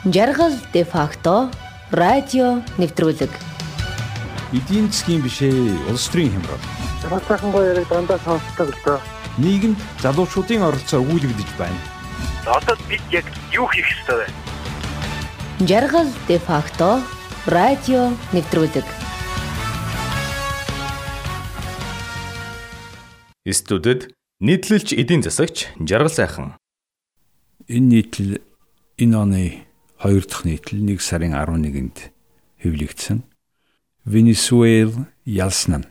Жаргал де факто радио нэвтрүүлэг. Эдийн засгийн бишээ улс төрийн хямрал. Хатаахан баярыг дандаа сонсдог л доо. Нийгэмд залуучуудын оролцоо өгүүлэгдэж байна. Одоо бид яг юу хийх ёстой вэ? Жаргал де факто радио нэвтрүүлэг. Студид нийтлэлч эдийн засагч Жаргал сайхан. Энэ нийтлэл энэ оны 2 дахь нийтлэл 1 сарын 11-нд хэвлэгдсэн. Венесуэл ялсан.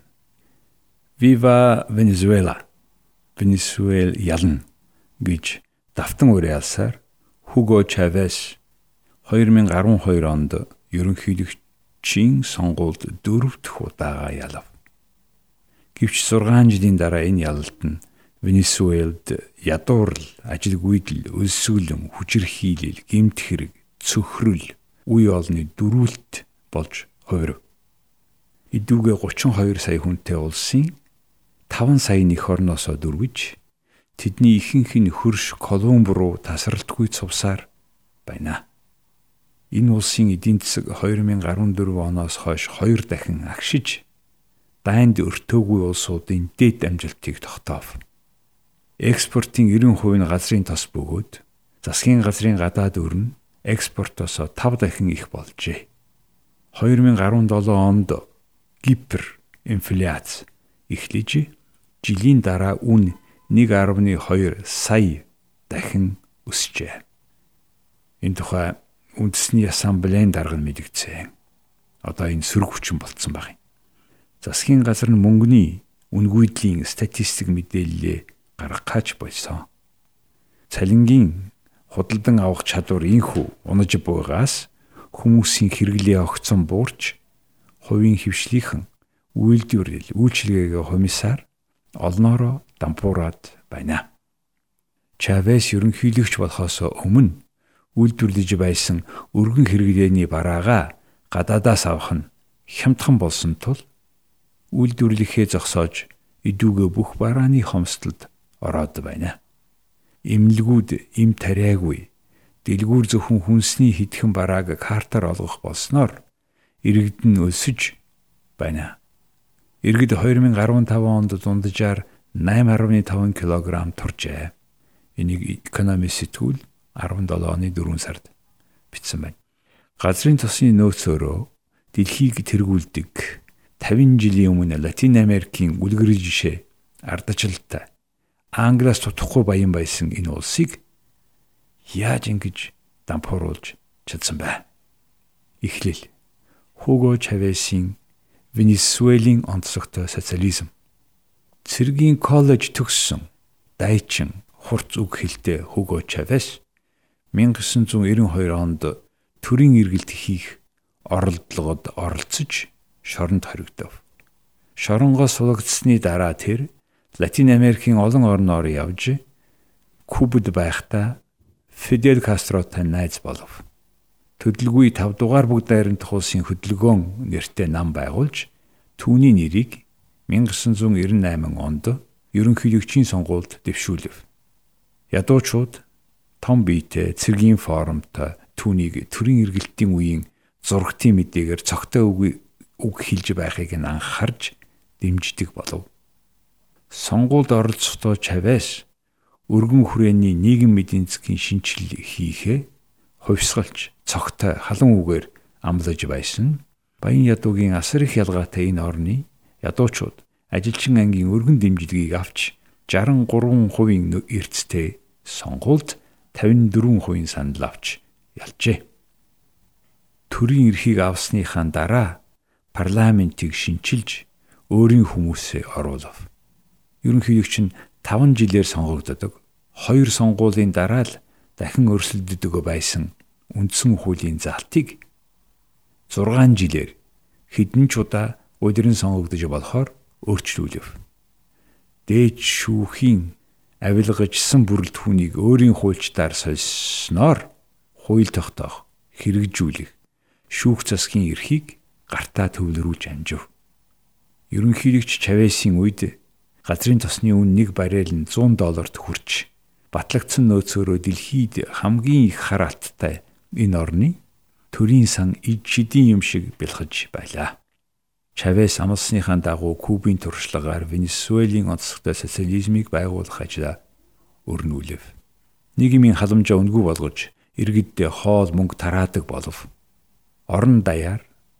Viva Venezuela. Венесуэл ялна гэж давтан уриалсаар Хуго Чавес 2012 онд ерөнхийлөгчийн сонгуульд 4 дахь удаага ялав. Гэвч 6 жилийн дараа энэ ялалт нь Венесуэлд ядуурл, ажилгүйдэл, өлсгөлөн, хүчирхийлэл, гэмт хэрэг, цөхрөл, үе олны дөрүүлт болж хувирв. Идүүгээ 32 сая хүнтэй улсын 5 сая эх орноосоо дөрвиж тэдний ихэнх нь хөрш Колумб руу тасралтгүй цувсаар байна. Энэ улсын эдийн засаг 2014 оноос хойш 2 дахин агшиж дайнд өртөөгүй улсуудын дэд амжилтыг тогтоов. Экспортын 90% нь газрын тос бөгөөд засгийн газрын гадаад өрн экспортоосоо 5 дахин их болжээ. 2017 онд Кипр инфляц эхлэж жилийн дараа үн 1.2 сая дахин өсжээ. Энэ тухай үндэсний ассамблеийн дарга мэдгдсэн. Одоо энэ сөрөг хүчин болцсон байна. Засгийн газар нь мөнгөний үнгүйдлийн статистик мэдээлэлээ гаргахаач болсон. Цалингийн худалдан авах чадвар инхүү унаж буйгаас хүмүүсийн хэрэглээ огцон буурч хувийн хвшлийнхэн үйлчлэгээ комиссар олноороо дампуураад байна. Чавес ерөнхийлөгч болохоос өмнө үйлдвэрлэж байсан өргөн хэрэглээний бараагаа гадаадаас авах нь хямдхан болсон тул үйлдвэрлэхээ зогсоож идүүгээ бүх барааны хомсдолд ороод байна. Имлгүүд им тариагүй дэлгүүр зөвхөн хүнсний хитгэн барааг картаар олгох болсноор иргэд нь өсөж байна. Иргэд 2015 онд дунджаар 8.5 кг туржээ. Энийг Economist сэтгүүл 17 оны 4 сард бичсэн байна. Газрын тосны нөөцөөрөө дэлхийг тэргүүлдэг 50 жилийн өмнө Латин Америкийн үлгэр жишээ ардчлалтай Англиас тутахгүй баян байсан энэ улсыг яаж ингэж дампууруулж чадсан бэ? Эхлэл Хуго Чавесийн Венесуэлийн онцлогтой социализм. Цэргийн коллеж төгссөн дайчин хурц үг хэлтэй Хуго Чавес 1992 онд төрийн эргэлт хийх оролдлогод оролцож шоронд хоригдов. Шоронгоос сулагдсны дараа тэр Латин Америкийн олон орноор явж Кубад байхдаа Фидель Кастротой найз болов. Төдөлгүй 5 дугаар бүгд найрамдах улсын хөдөлгөөн нэртэй нам байгуулж түүний нэрийг 1998 онд ерөнхийлөгчийн сонгуульд дэвшүүлв. Ядуучууд том биетэй цэргийн форумтой түүнийг төрийн эргэлтийн үеийн зургтын мэдээгээр цогтой үг хэлж байхыг нь анхаарч дэмждэг болов. Сонгуульд оролцохдоо Чавес өргөн хүрээний нийгэм эдийн засгийн шинжилгээ хийхээ хувьсгалж цогтой халуун үгээр амлаж байсан. Баян ядуугийн асар их ялгаатай энэ орны ядуучууд ажилчин ангийн өргөн дэмжлэгийг авч 63% эрсдэлтэй сонгуульд 54% санал авч ялжээ. Төрийн эрхийг авсныхаа дараа парламентийг шинчилж өөрийн хүмүүсээ оруулав. Ерөнхийлөгч нь 5 жилээр сонгогддог. 2 сонгуулийн дараа л дахин өрсөлддөг байсан үндсэн хуулийн залтыг 6 жилээр хэдэн ч удаа удиран сонгогдож болохоор өөрчлүүлв. Дээд шүүхийн авилгажсан бүрэлдэхүүнийг өөрийн хуульчдаар сольсноор хууль тогтоох, хэрэгжүүлэх, шүүх засгийн эрхийг гартаа төвлөрүүлж амжив. Ерөнхийлөгч Чавесийн үед газрын тосны үн 1 баррел нь $100 хүрч батлагдсан нөөцөөрөө дэлхийд хамгийн их хар алттай энэ орны төрийн сан эдийн юм шиг бэлхэж байлаа. Чавес амлсныхаа дагуу Кубын туршлагаар Венесуэлийн онцлогтой социализмыг байгуулах ажлаа өрнүүлэв. Нийгмийн халамжаа үнгүй болгож иргэддээ хоол мөнгө тараадаг болов. Орон даяар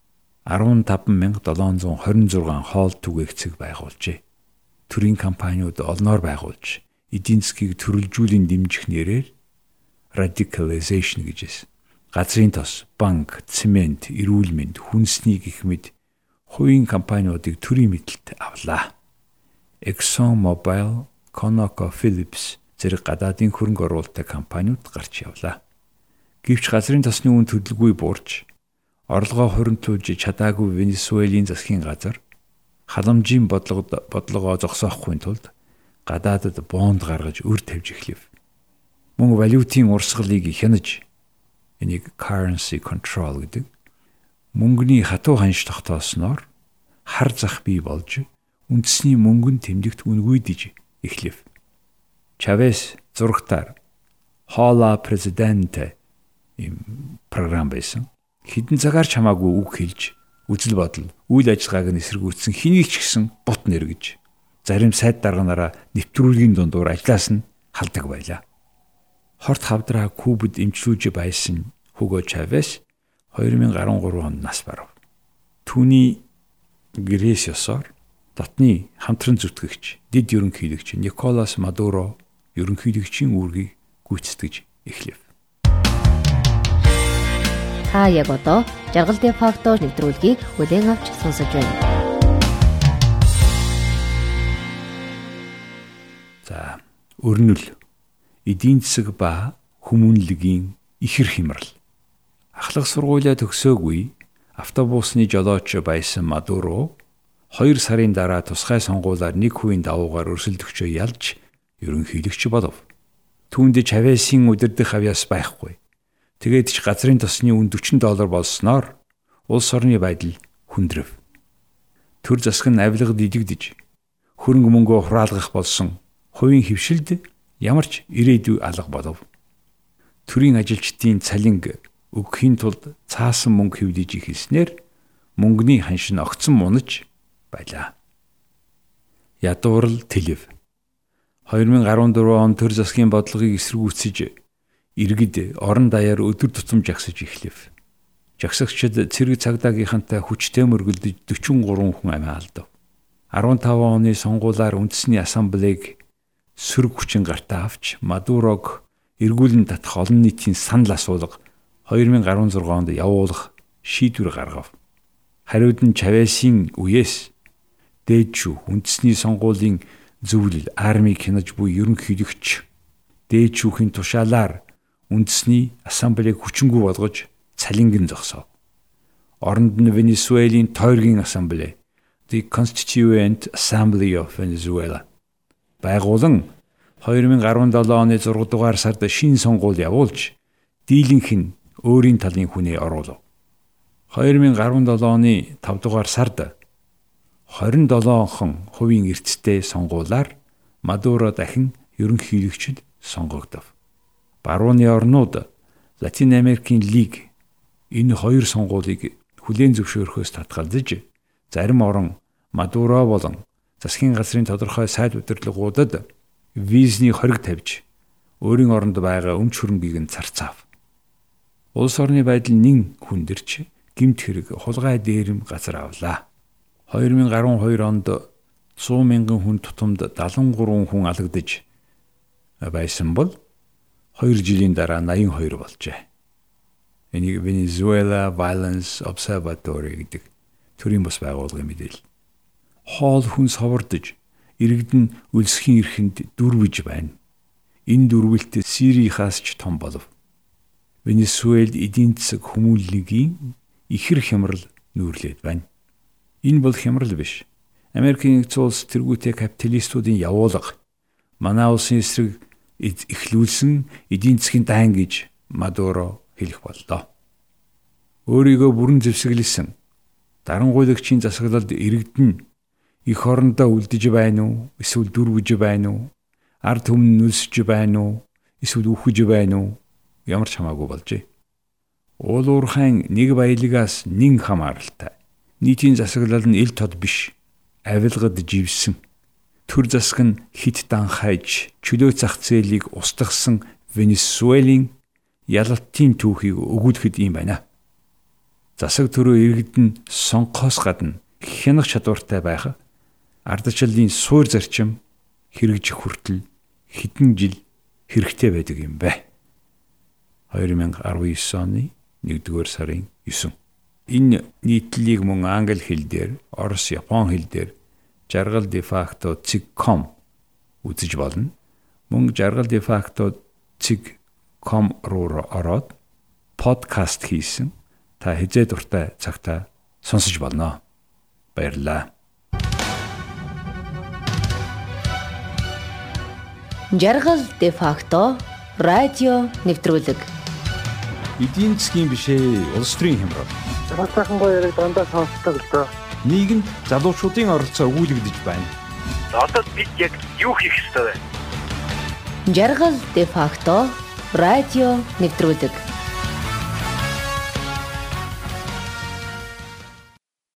15,726 хоол түгээгцэг байгуулжээ. Төрийн компаниуд олноор байгуулж эдийн засгийг төрөлжүүлэн дэмжих нэрээр radicalization гэжээс газрын тос, банк, цемент, эрүүл мэнд, хүнсний гэх мэт хувийн компаниудыг төрийн мэдэлд авлаа. Exxon Mobil, ConocoPhillips зэрэг гадаадын хөрөнгө оруулалттай компаниуд гарч явлаа. Гэвч газрын тосны үн төлөвгүй буурч орлогоо хуримтлуулж чадаагүй Венесуэлийн засгийн газар халамжийн бодлогоо зогсоохгүй тулд гадаадад бонд гаргаж өр тавьж эхлэв. Мөн валютын урсгалыг хянаж, энийг currency control гэдэг, мөнгөний хатуу ханш тогтоосноор хар зах бий болж үндэсний мөнгөн тэмдэгт үнгүйдэж эхлэв. Чавес зурагтаар Хола Президенте ийм програм байсан. Хэдэн цагаар чамаагүй үг хэлж, үзэл бодол, үйл ажиллагааг нь эсэргүүцсэн хэнийг ч гэсэн бут нэргэж, зарим сайд дарганаараа нэвтрүүлгийн дундуур ажлаас нь халдаг байлаа. Хорт хавдраа Кубад эмчлүүлж байсан Хуго Чавес 2013 онд нас барав. Түүний гэрээсёсоор дотны хамтран зүтгэгч, дэд ерөнхийлөгч Николас Мадуро ерөнхийлөгчийн үүргийг гүйцэтгэж эхлэв. Та яг одоо жаргалын фактор нэвтрүүлгийг бүлээн авч сонсож байна. За, өрнөл, эдийн засаг ба хүмүүнлэгийн ихэр хямрал. Ахлах сургуулиа төгсөөгүй автобусны жолооч байсан Мадуро 2 сарын дараа тусгай сонгуулиар 1% давуугаар өрсөлдөгчөө ялж ерөнхийлөгч болов. Түүнд Чавесийн удирдах авьяас байхгүй. Тэгээд ч газрын тосны үн $40 болсноор улс орны байдал хүндрэв. Төр засаг нь авилгад идэгдэж, хөрөнгө мөнгөө хураалгах болсон хувийн хөвшилд ямар ч ирээдүй алга болов. Төрийн ажилчдын цалинг өгөхийн тулд цаасан мөнгө хэвлэж ихэлснээр мөнгөний ханш нь огцон мунаж байлаа. Ядуурл Тэлэв 2014 он төр засгийн бодлогыг эсэргүүцэж иргэд орон даяар өдөр тутам жагсаж эхлэв. Жагсагчид цэрэг цагдаагийнхантай хүчтэй мөргөлдөж 43 хүн амиа алдав. 15 оны сонгуулиар үндэсний ассамблег сөрөг хүчин гартаа авч Мадурог эргүүлэн татах олон нийтийн санал асуулга 2016 онд явуулах шийдвэр гаргав. Хариуд нь Чавесийн үеэс дээдчүү үндэсний сонгуулийн зөвлөл армийг хянаж буй ерөнхийлөгч дээдчүүхийн тушаалаар үндэсний ассамблег хүчингүй болгож цалингэн зогсов. Оронд нь Венесуэлийн тойргийн ассамбле, The Constituent Assembly of Venezuela байгуулан 2017 оны 6 дугаар сард шинэ сонгуул явуулж дийлэнх нь өөрийн талын хүнээ оруулав. 2017 оны 5 дугаар сард 27% эрсдэлтэй сонгуулиар Мадуро дахин ерөнхийлөгчд сонгогдов. Барууны орнууд Латин Америкийн лиг энэ хоёр сонгуулийг хүлээн зөвшөөрөхөөс татгалзаж, зарим орон Мадуро болон засгийн газрын тодорхой сайд удирдлагуудад визний хориг тавьж, өөрийн оронд байгаа өмч хөрөнгийг нь зарцаав. Улс орны байдал нэн хүндэрч, гэмт хэрэг хулгай дээрэм газар авлаа. 2012 онд 100 мянган хүн тутамд 73 хүн алагдаж байсан бол 2 жилийн дараа 82 болжээ. Энийг Venezuela Violence Observatory гэдэг төрийн бас байгууллагын мэдээлэл. Хоол хүнс ховордож, иргэдэн өлсхийн эрхэнд дүрвэж байна. Энэ дүрвэлт Сирийнхаас ч том болов. Венесуэлд эдийн засаг хүмүүнлэгийн ихэр хямрал нүүрлээд байна. Энэ бол хямрал биш. Америкийн нэгдсэн улс тэргүүтэй капиталистуудын явуулга, манай улсын эсрэг эхлүүлсэн эдийн засгийн дан гэж Мадуро хэлэх боллоо. Өөрийгөө бүрэн зэвсэглэсэн дарангуйлагчийн засаглалд иргэдэн их орондоо үлдэж байна уу? Эсвэл дүрвэж байна уу? Ард түмэн нөлсөж байна уу? Эсвэл үхэж байна уу? Ямар ч хамаагүй болжээ. Уул уурхайн нэг баялагаас нэн хамааралтай. Нийтийн засаглал нь ил тод биш. Авилгад живсэн. Төр засаг нь хит данхайж, чөлөө зах зээлийг устгасан Венесуэлийн ялалтын түүхийг өгүүлэхэд юм байна. Засаг төрөө иргэдэн сонгохоос гадна хянах чадвартай байх ардчлалын суур зарчим хэрэгжих хүртэл хэдэн жил хэрэгтэй байдаг юм бэ. 2019 оны 1-р сарын 9. Энэ нийтлэлийг мөн англи хэл дээр, орос, япон хэл дээр жаргал defacto.com үзэж болно. Мөн жаргал defacto.com руу ороод подкаст хийсэн та хизээ дуртай цагтаа сонсож болно. Баярлалаа. Жаргал де-факто радио нэвтрүүлэг. Эдийн засгийн бишээ улс төрийн хямрал. Бас сайхан гоё яриг дандаа сонсдог л доо. Нийгэмд залуучуудын оролцоо өгүүлэгдэж байна. Одоо бид яг юу хийх ёстой вэ? Жаргал де-факто радио нэвтрүүлэг.